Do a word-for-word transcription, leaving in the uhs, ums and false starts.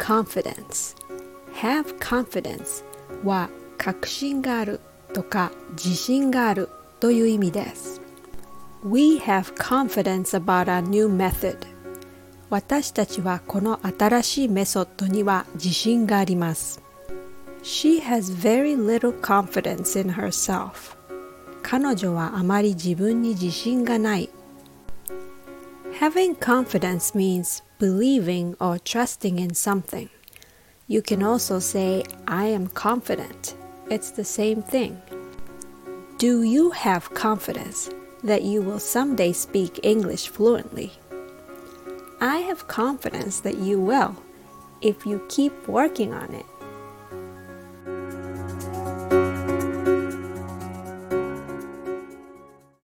confidence. Have confidence は確信があるとか自信があるという意味です。We have confidence about our new method. 私たちはこの新しいメソッドには自信があります。She has very little confidence in herself. 彼女はあまり自分に自信がない。Having confidence means believing or trusting in something. You can also say, I am confident. It's the same thing. Do you have confidence that you will someday speak English fluently? I have confidence that you will, if you keep working on it.